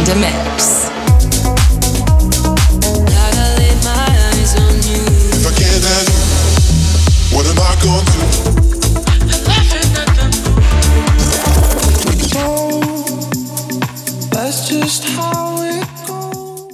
in the mix. If I can't have you, what am I gonna do? That's just how it goes.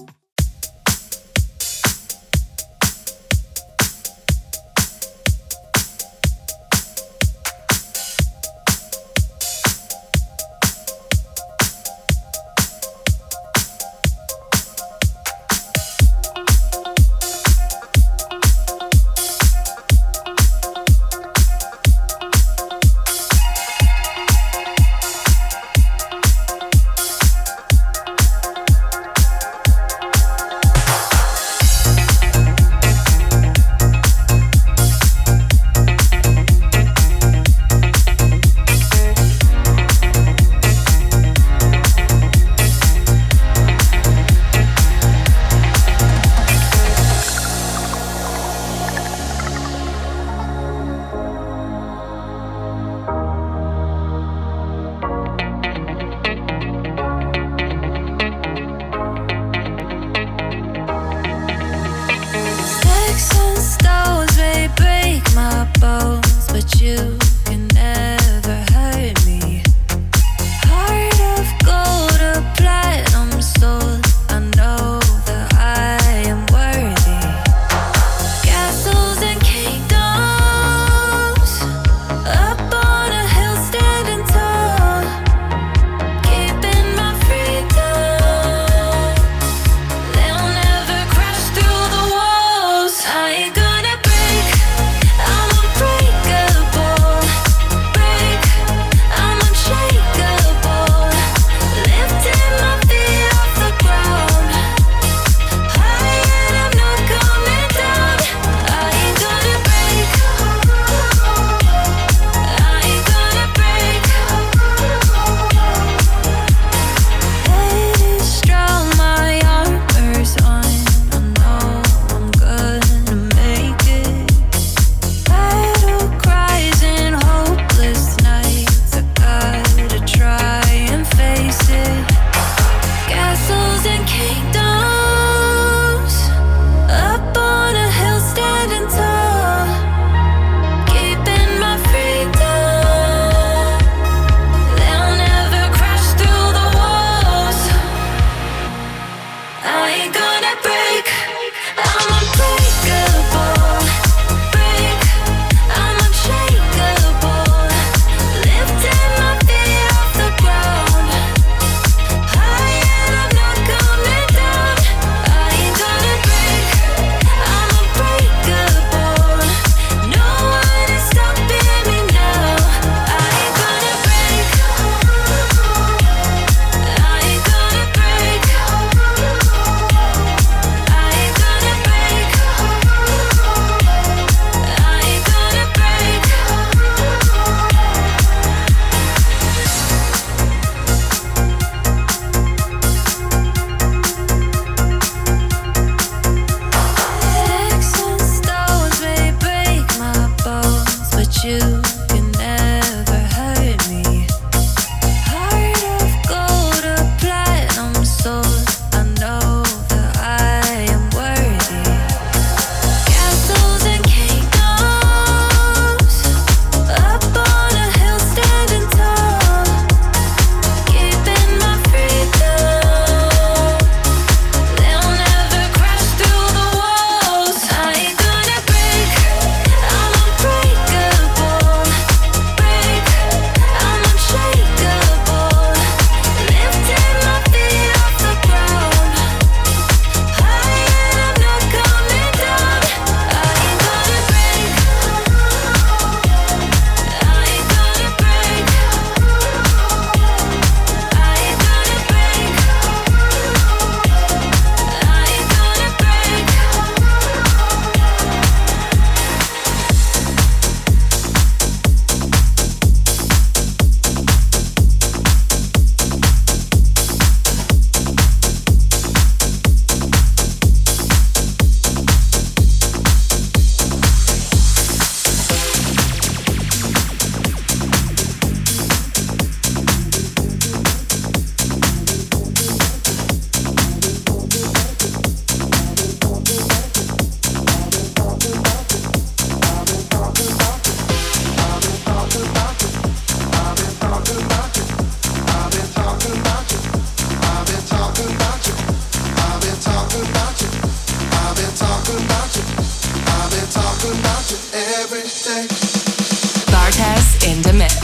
every day. Bartes in the mix.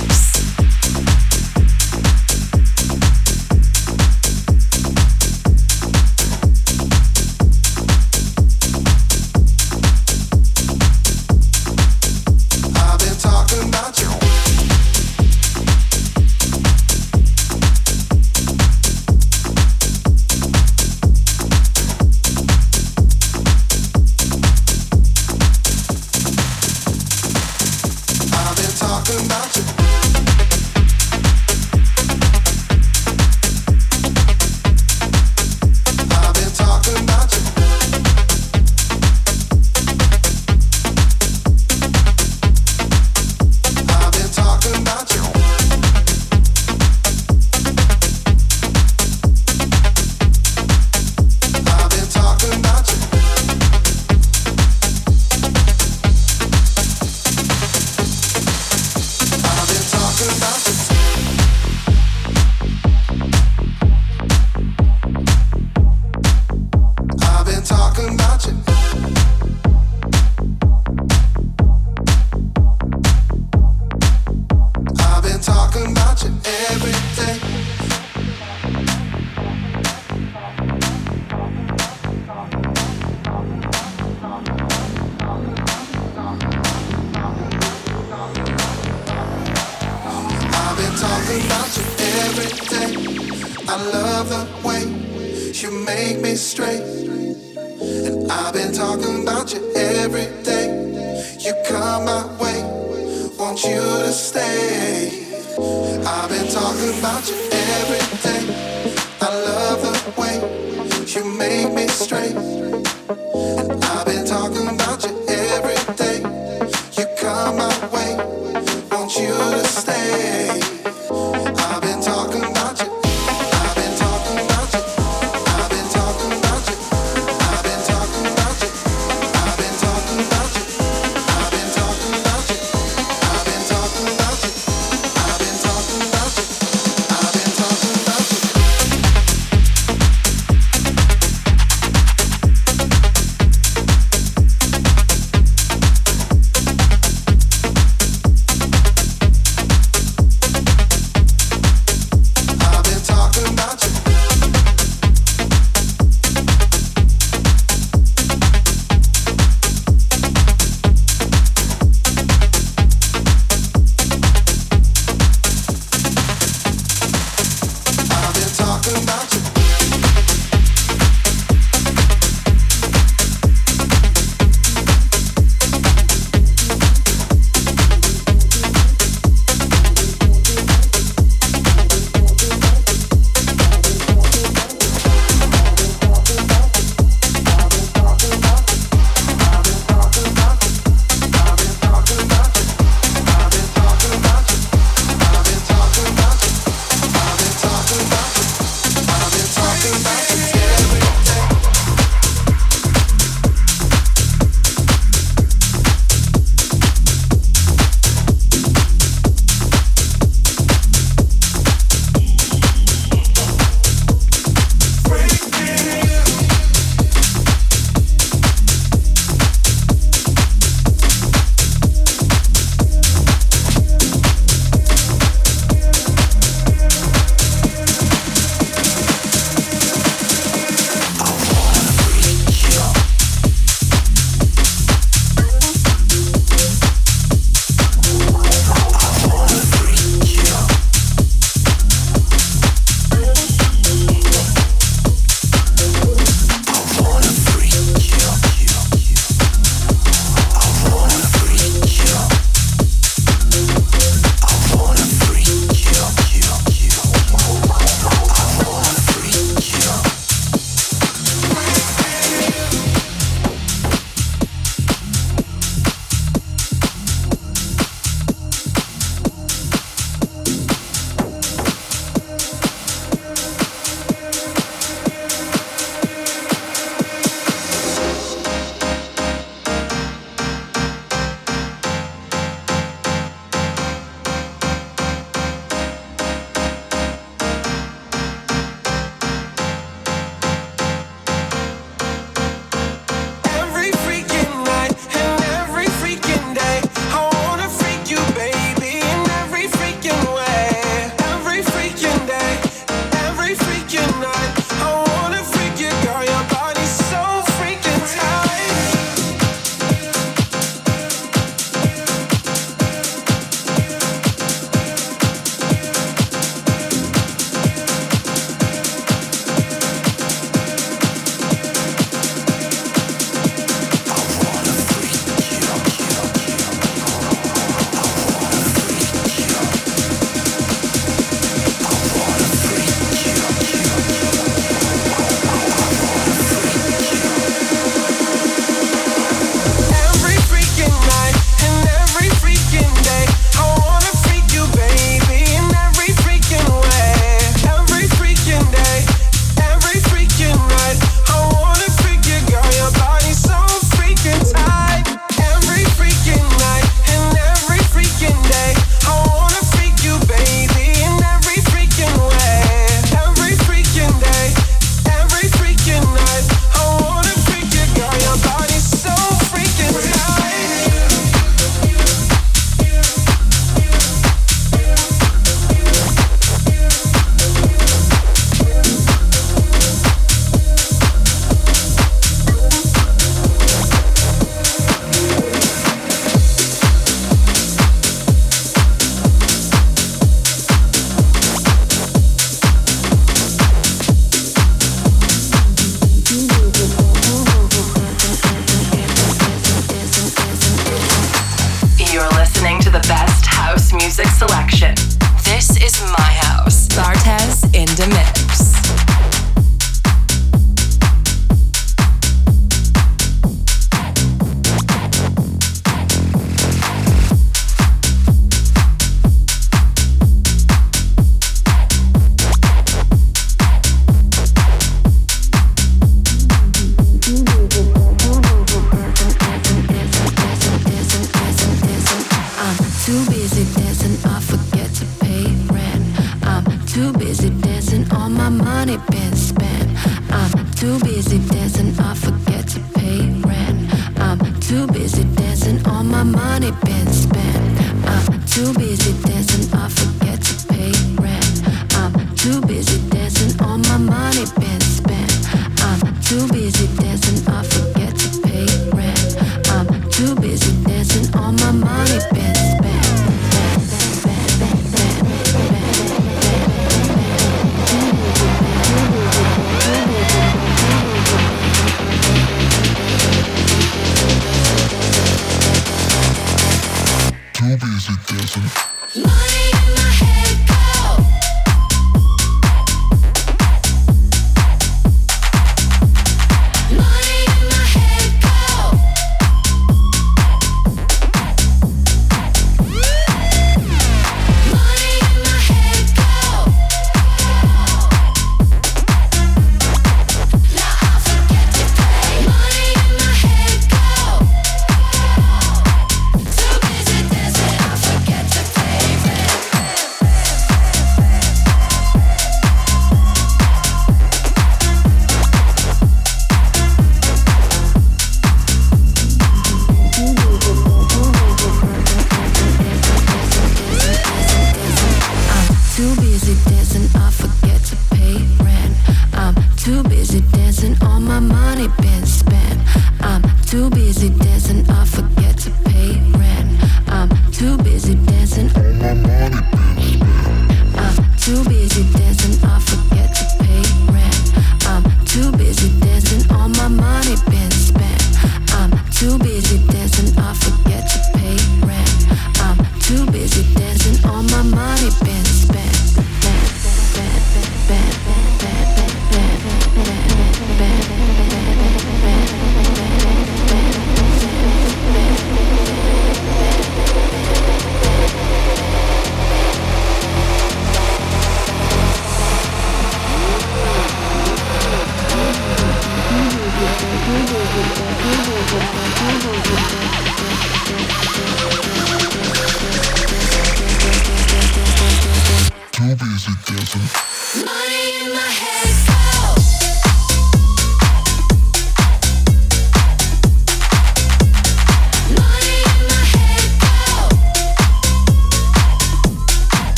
music selection. This is my house. Bartez in the mix.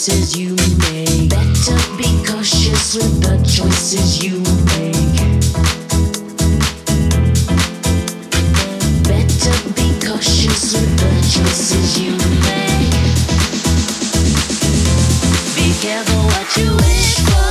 choices you make. Better be cautious with the choices you make. Better be cautious with the choices you make. Be careful what you wish for.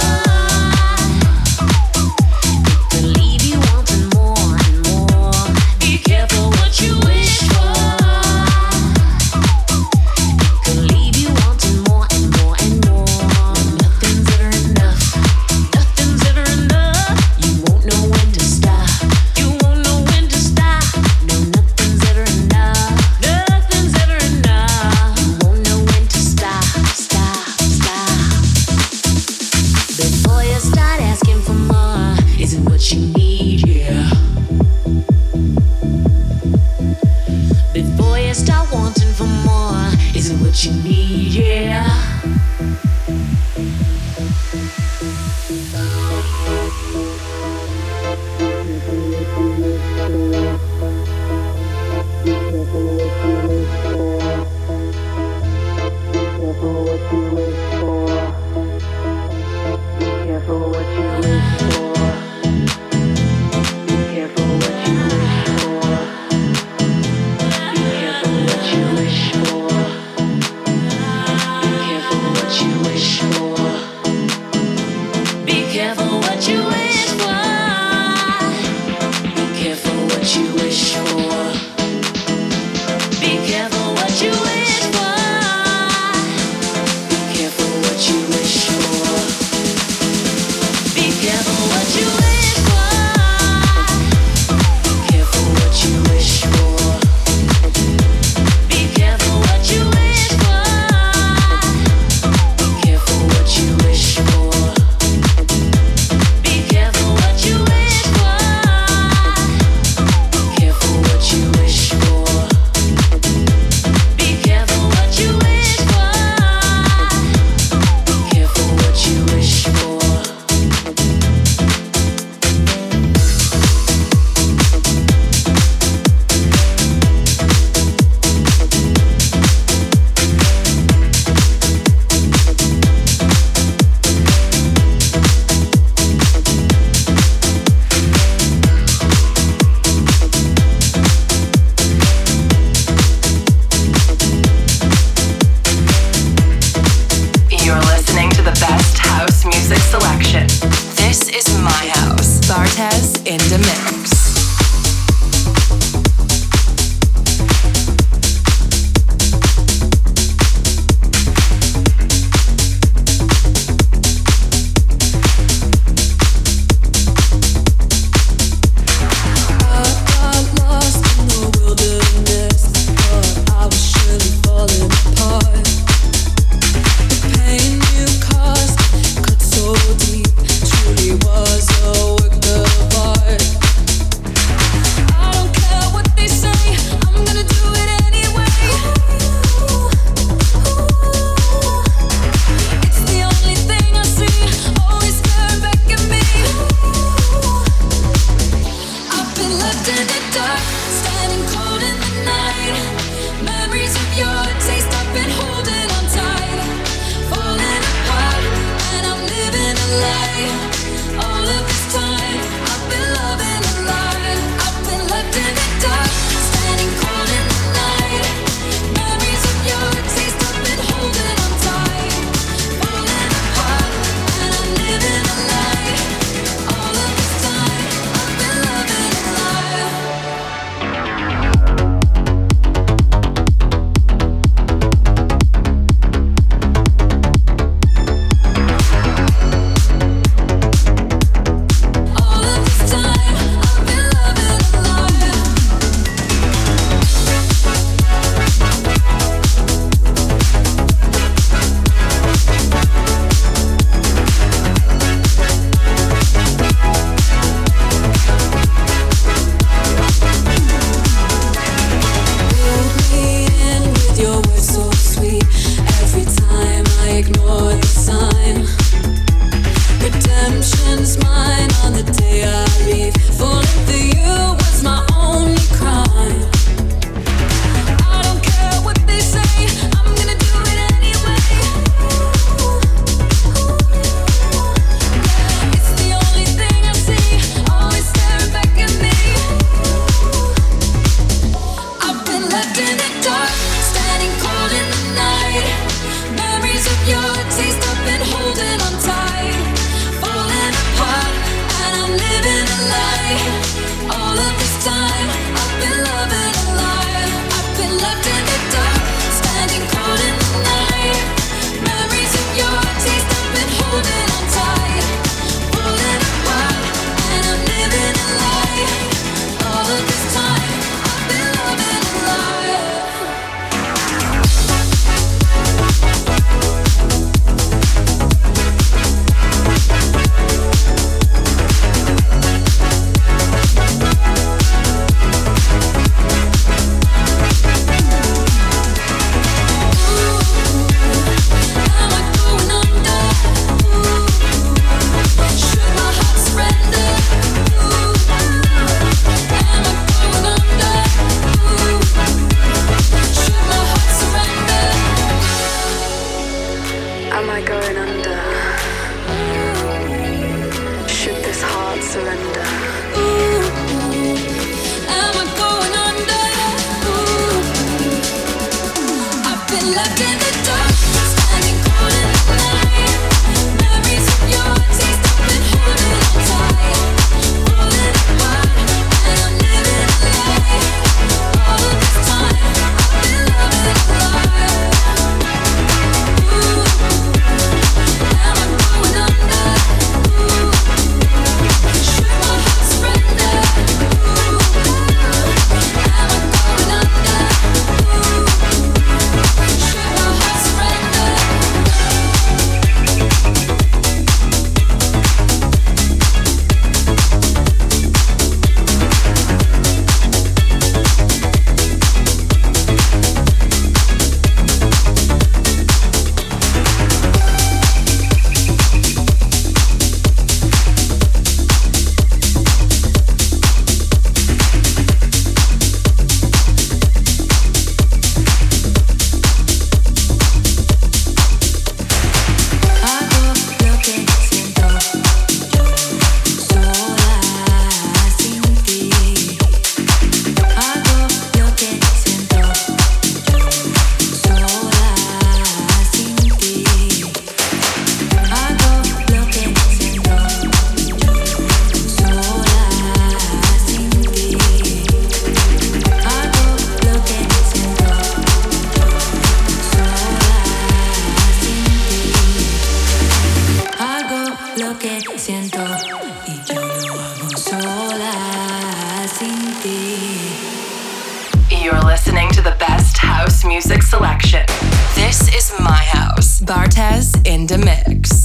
y yo lo hago sola sin ti. You're listening to the best house music selection. This is my house. Bartez in the mix.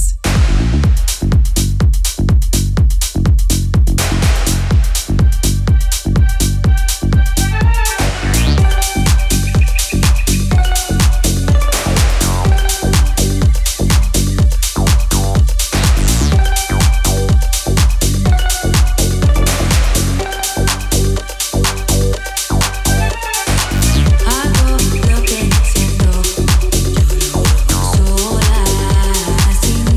Hago lo que siento, yo lo hago sola sin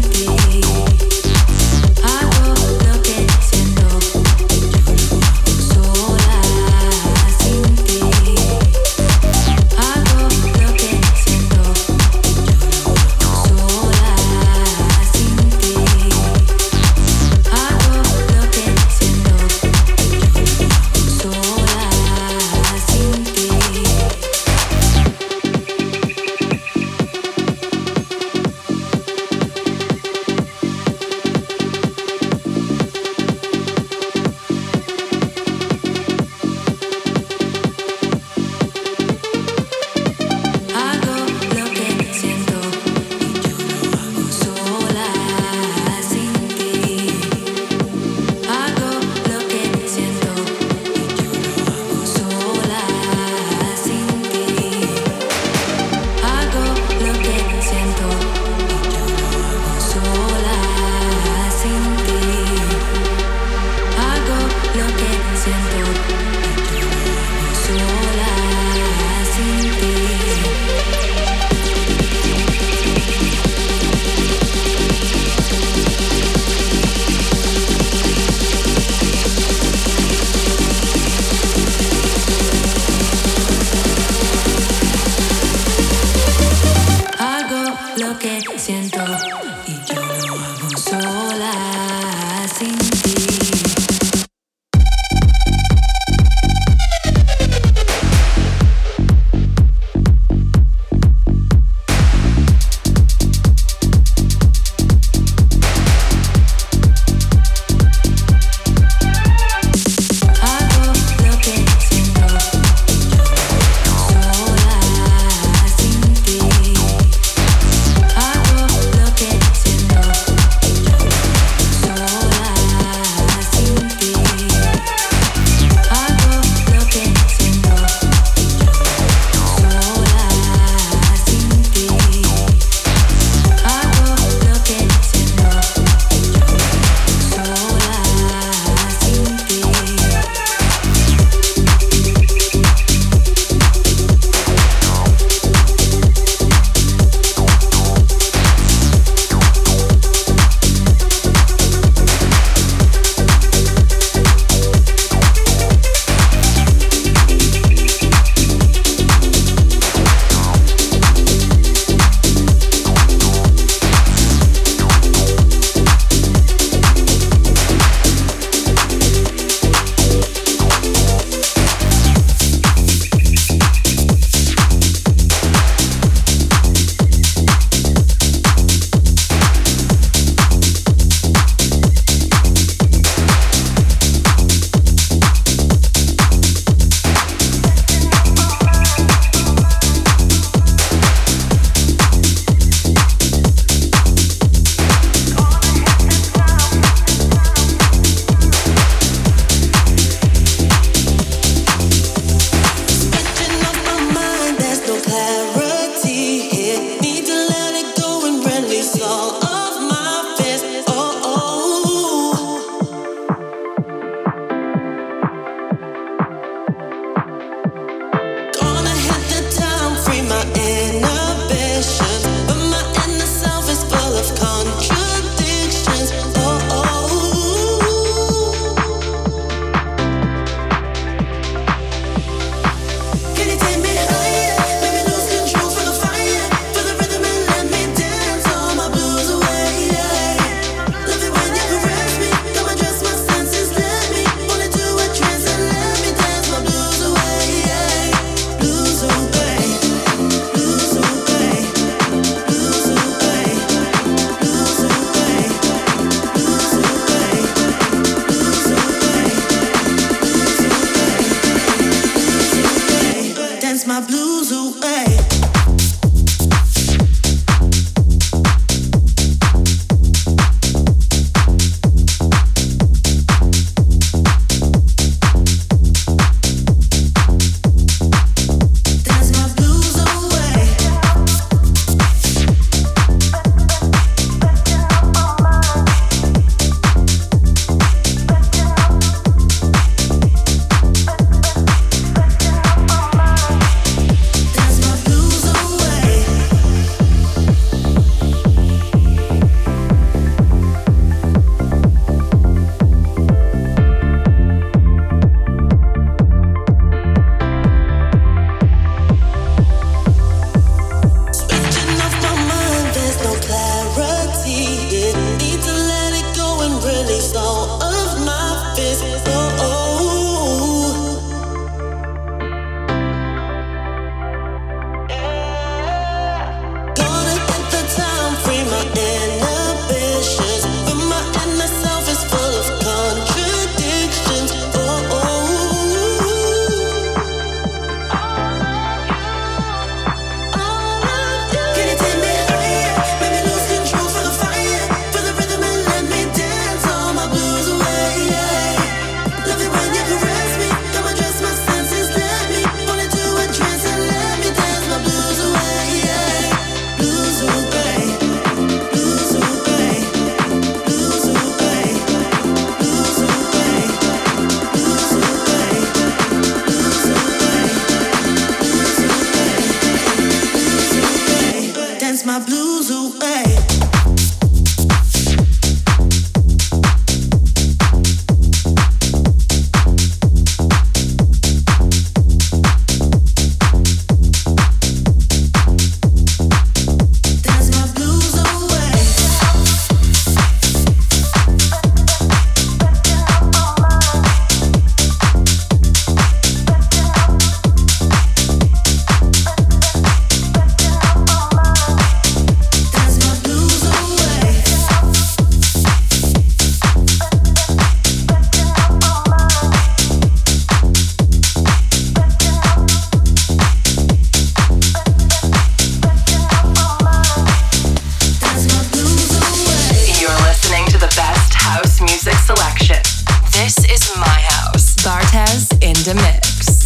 selection. This is my house. Bartez in the mix.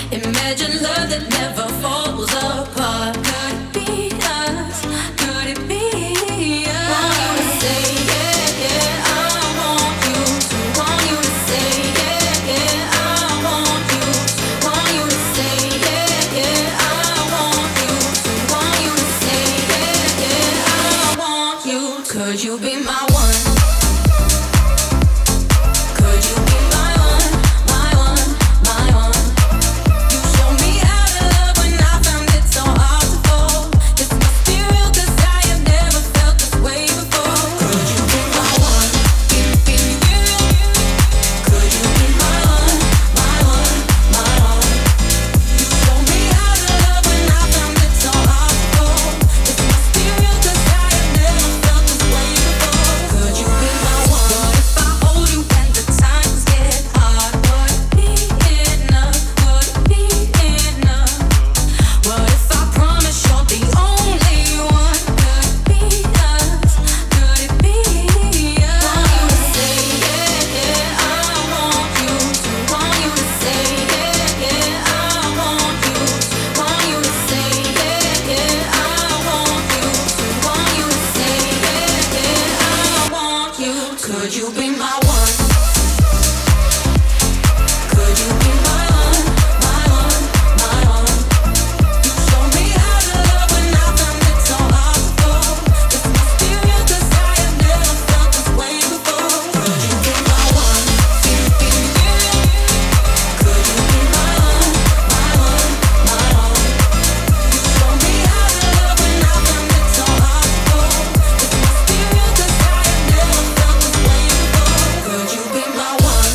Imagine love that never falls apart. Could it be us? Could it be us? Want you to say yeah, yeah, I want you to. Want you to say yeah, yeah, I want you to. Want you to say yeah, yeah, I want you to. Want you to say yeah, yeah, I want you to. Could you be my one? Could you be my one, my one, my one? You show me how to love when I found it so hard to fall. This must be real 'cause I have never felt this way before. Could you be my one? Be real. Could you be my one, my one, my one? You show me how to love when I found it so hard to fall. This must be real 'cause I have never felt this way before. Could you be my one? What if I hold you when the times get hard? Would it be enough? Would it be enough? What if I promise you're the only one? Could it be us? Could it be us? Want you to say yeah, yeah, I want you to. Want you to say yeah, yeah, I want you to. Want you to say yeah, yeah, I want you to. Want you to say yeah, yeah, I want you to. Could you be my one? Could you be my one, my one, my one? You show me how to love when I found it so hard to fall. This must be real 'cause I have never felt this way before. Could you be my one? Be real. Could you be my one, my one, my one? You show me how to love when I found it so hard to fall. This must be real 'cause I have never felt this way before. Could you be my one?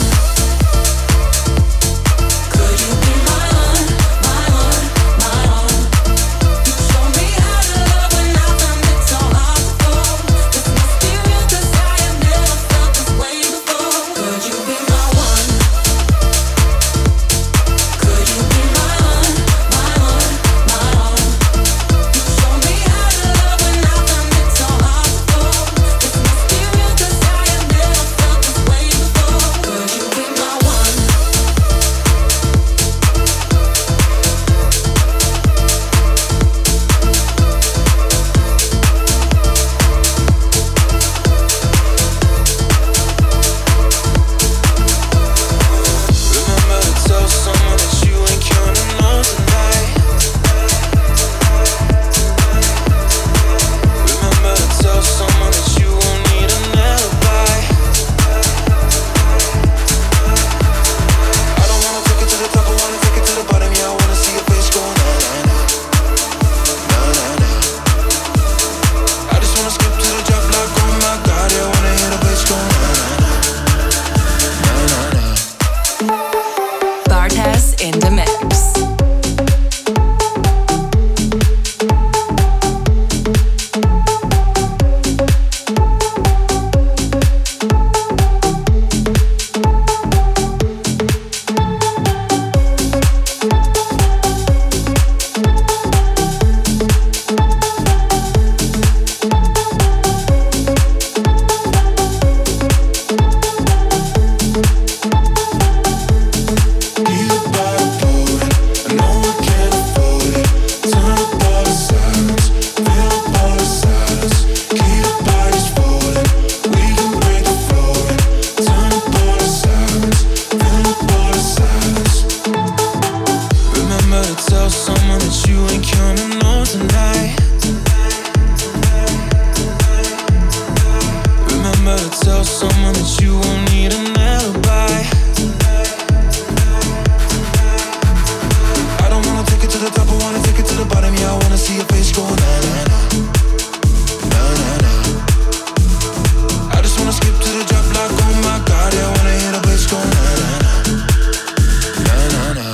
Could you be my one, my one, my one? You show me how to love when I found it so hard to fall. This must be real 'cause I have never felt this way before. Could you be my one? Could you be my one, my one, my one? You show me how to love when I found it so hard to fall. This must be real 'cause I have never felt this way before. Could you be my one? Remember to tell someone that you ain't counting on tonight. Remember to tell someone that you won't need an alibi. I don't wanna take it to the top, I wanna take it to the bottom. Yeah, I wanna see your face go na na na, na na na. I just wanna skip to the drop like oh my god, yeah, I wanna hear the bass go na na na, na na na. Bartez in the mix. Keep the bottle pouring. I know I can't afford it. Turn up all the silence, fill up all the silence. Keep the bodies falling. We can break the flooring. Turn up all the silence, fill up all the silence. Remember to tell someone that you ain't counting on tonight. Remember to tell someone that you won't need an alibi. I don't wanna take it to the top, I wanna take it to the bottom. Yeah, I wanna see your face go na na na, na na na. I just wanna skip to the drop like oh my god, yeah, I wanna hear the bass go na na na, na na na.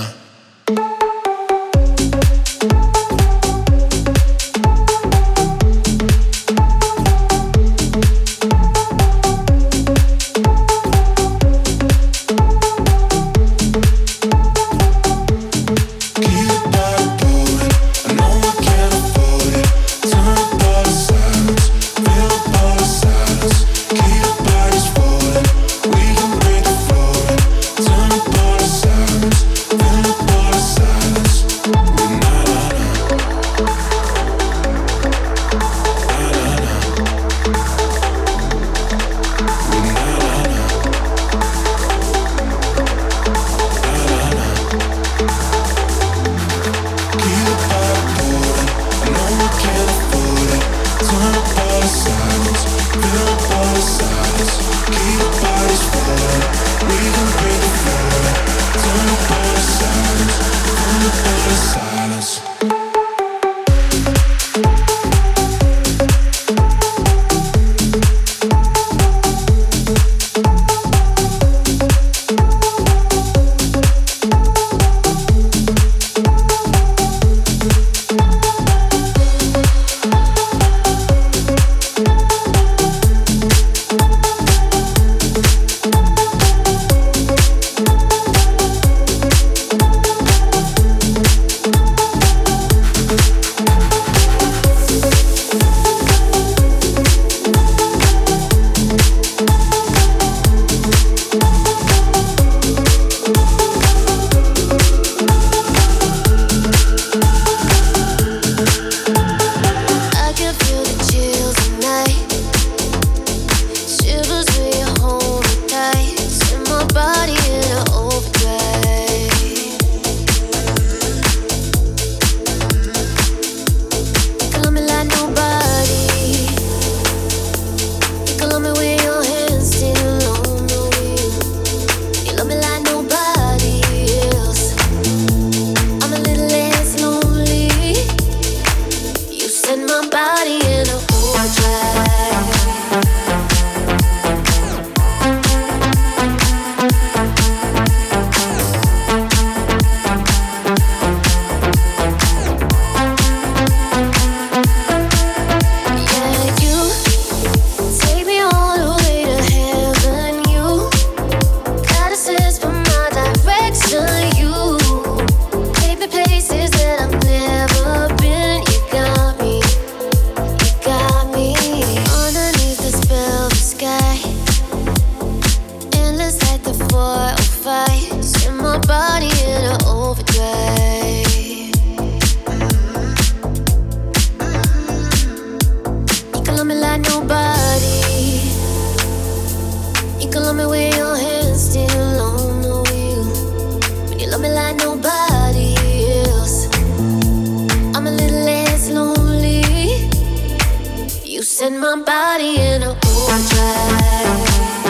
Set my body in a overdrive.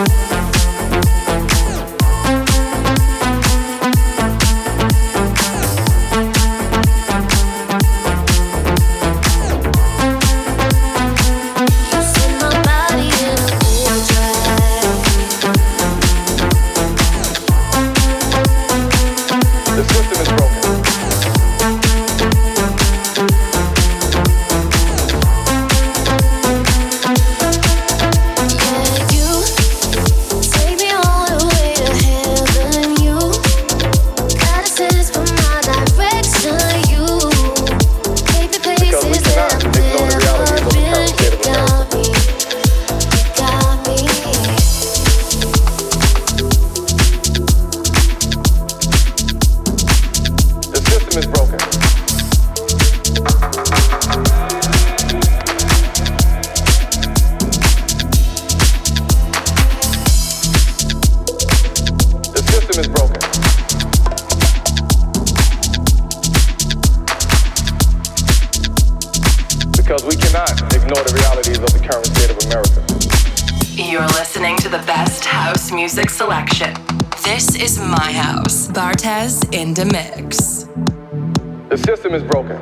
Bartez in the mix. The system is broken.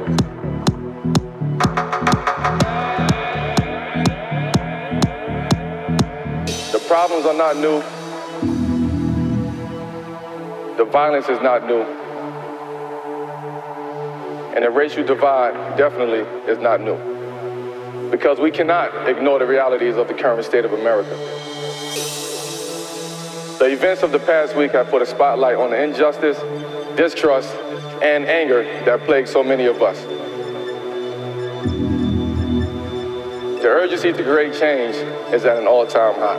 The problems are not new. The violence is not new. And the racial divide definitely is not new. Because we cannot ignore the realities of the current state of America. The events of the past week have put a spotlight on the injustice, distrust, and anger that plague so many of us. The urgency to create change is at an all-time high.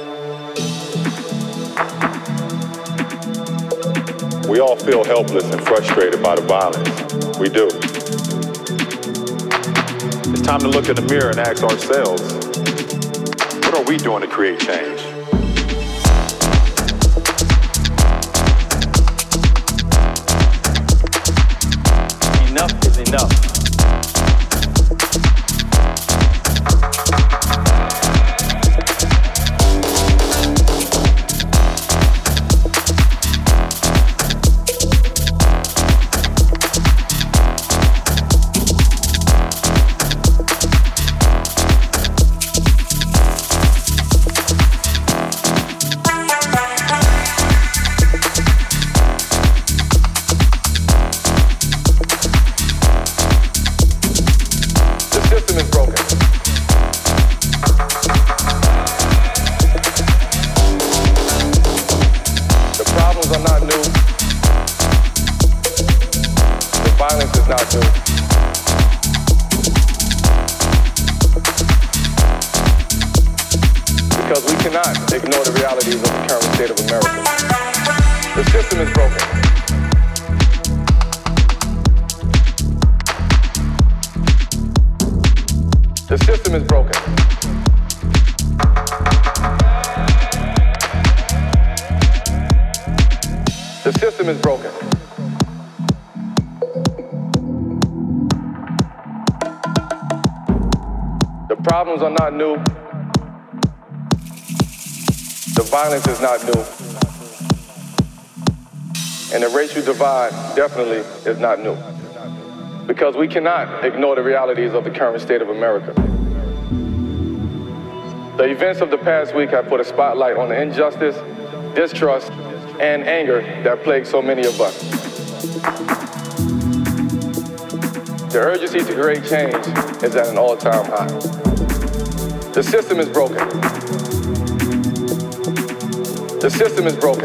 We all feel helpless and frustrated by the violence. We do. It's time to look in the mirror and ask ourselves, what are we doing to create change? Enough is enough. Problems are not new. The violence is not new. And the racial divide definitely is not new. Because we cannot ignore the realities of the current state of America. The events of the past week have put a spotlight on the injustice, distrust, and anger that plague so many of us. The urgency to create change is at an all-time high. The system is broken. The system is broken.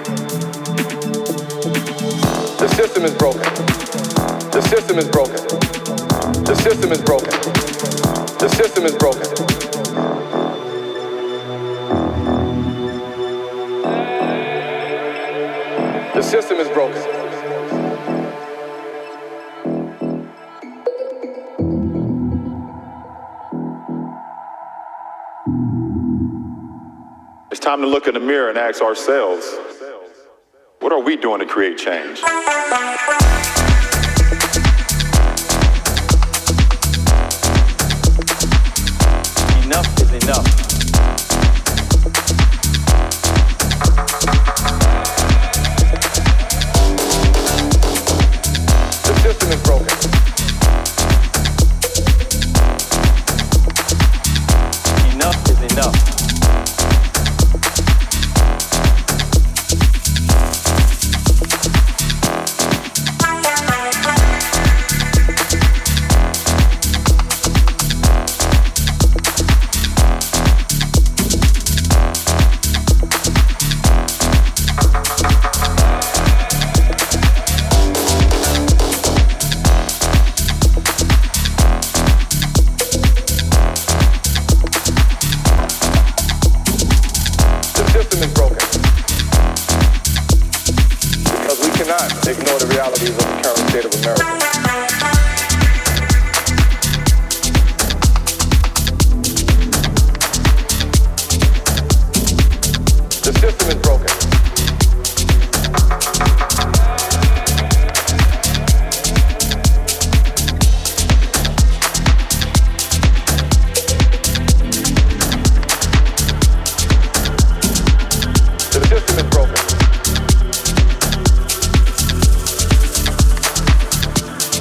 The system is broken. The system is broken. The system is broken. The system is broken. The system is broken. It's time to look in the mirror and ask ourselves, what are we doing to create change? current state of America. The system is broken. The system is broken.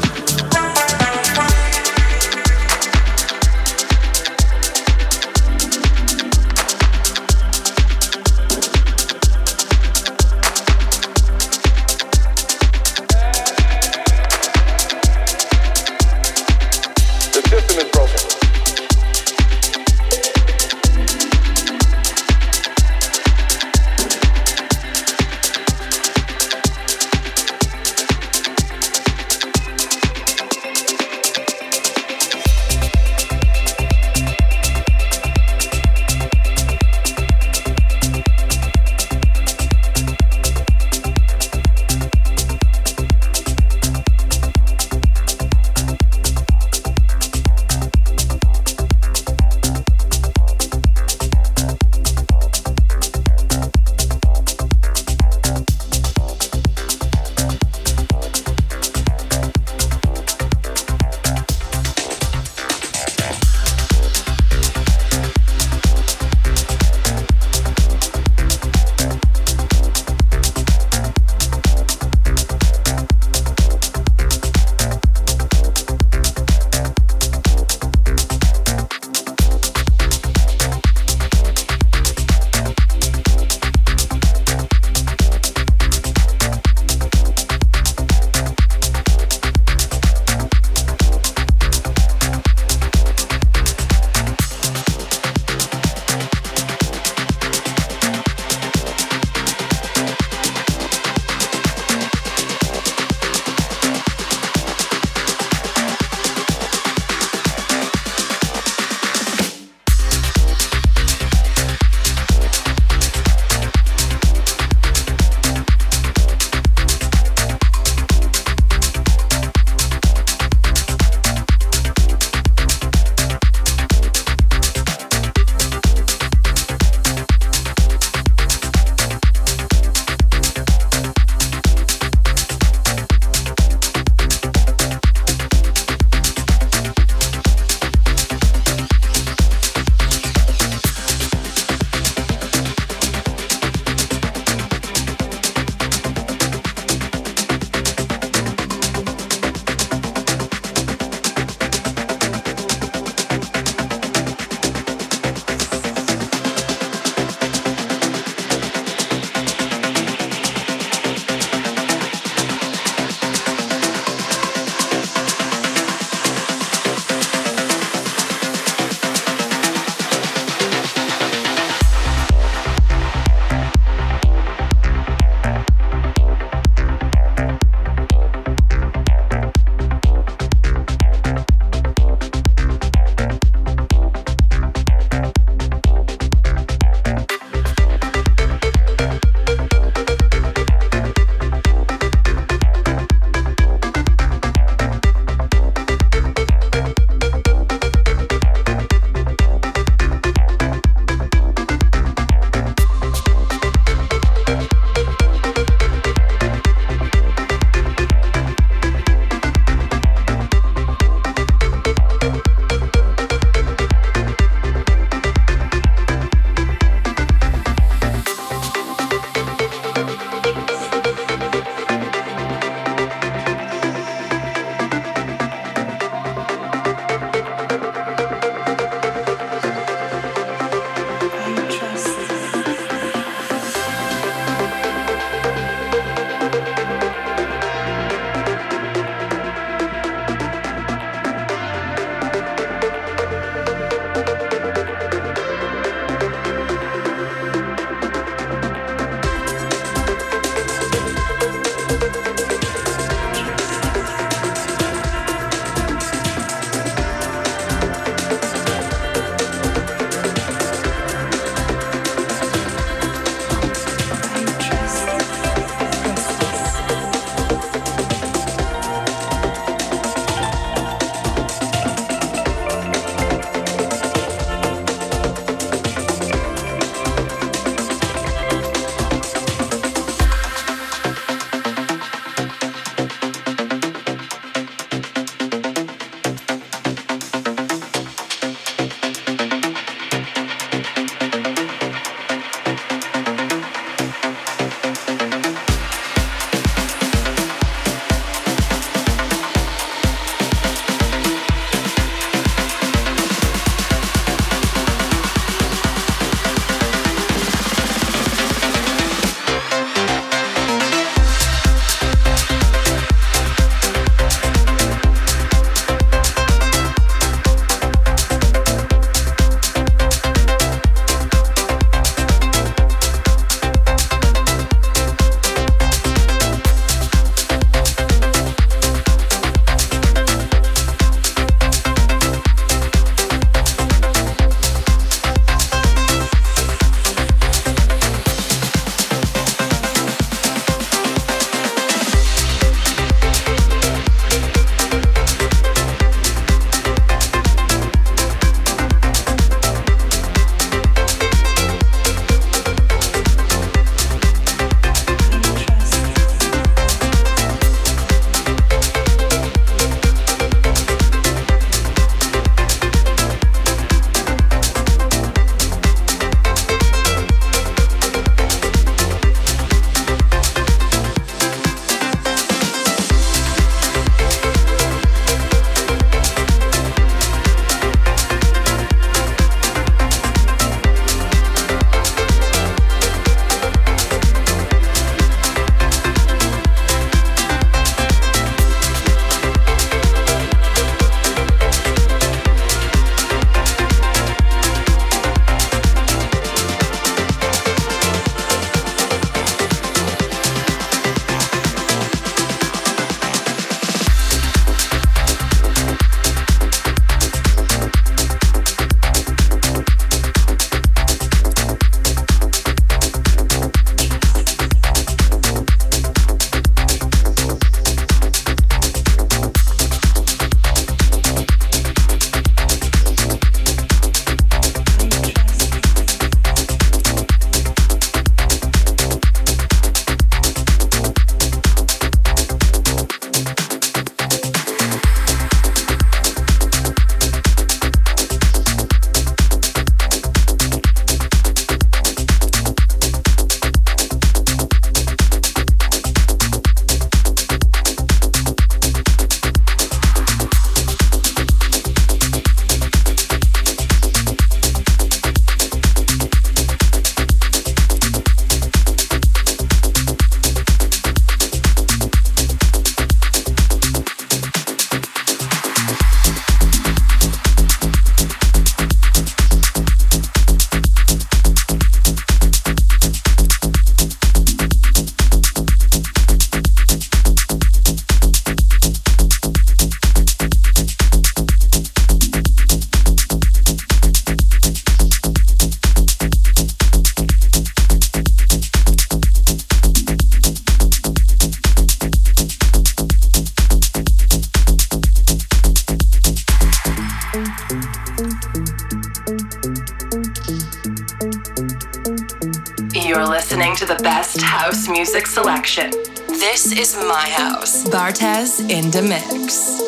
listening to the best house music selection. This is my house. Bartez in the mix.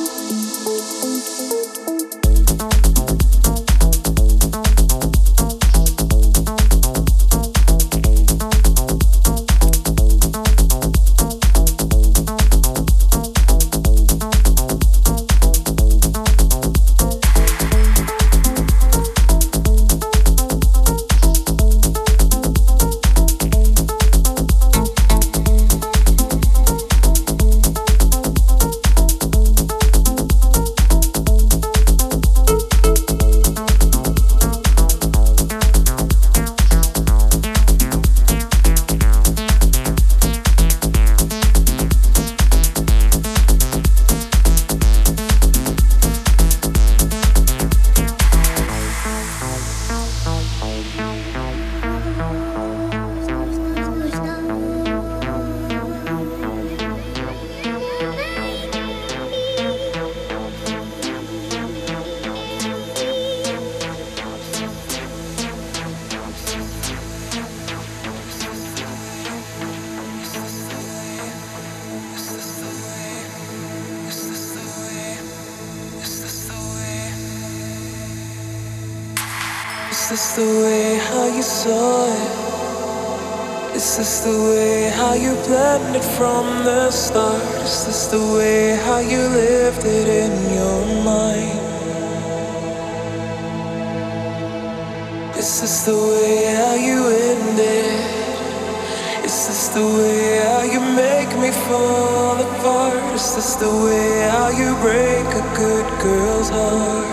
Is this the way how you saw it? Is this the way how you planned it from the start? Is this the way how you lived it in your mind? Is this the way how you end it? Is this the way how you make me fall apart? Is this the way how you break a good girl's heart?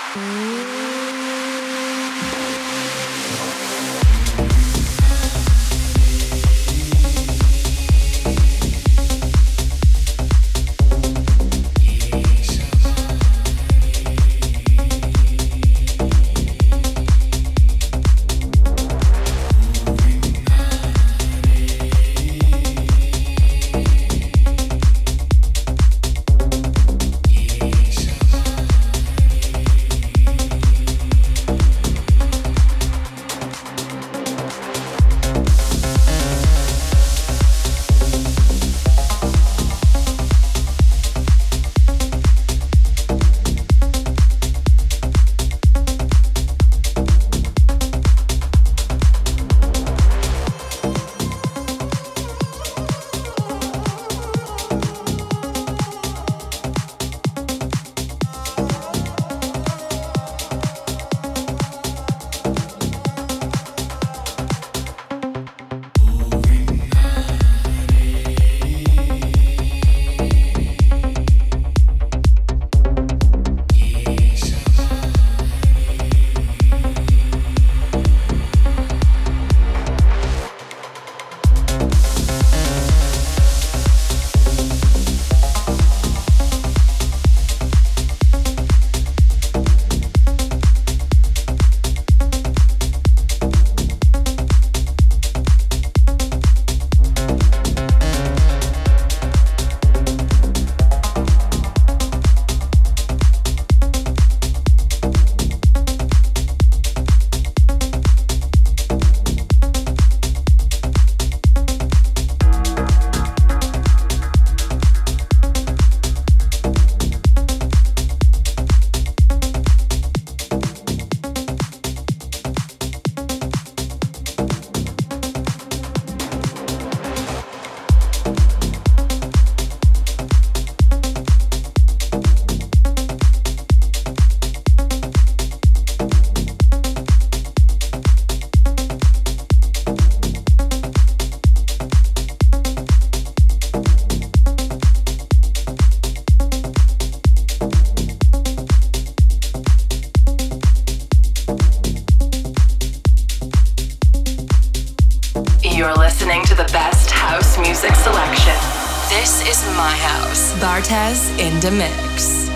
You're listening to the best house music selection. This is my house. Bartez in the mix.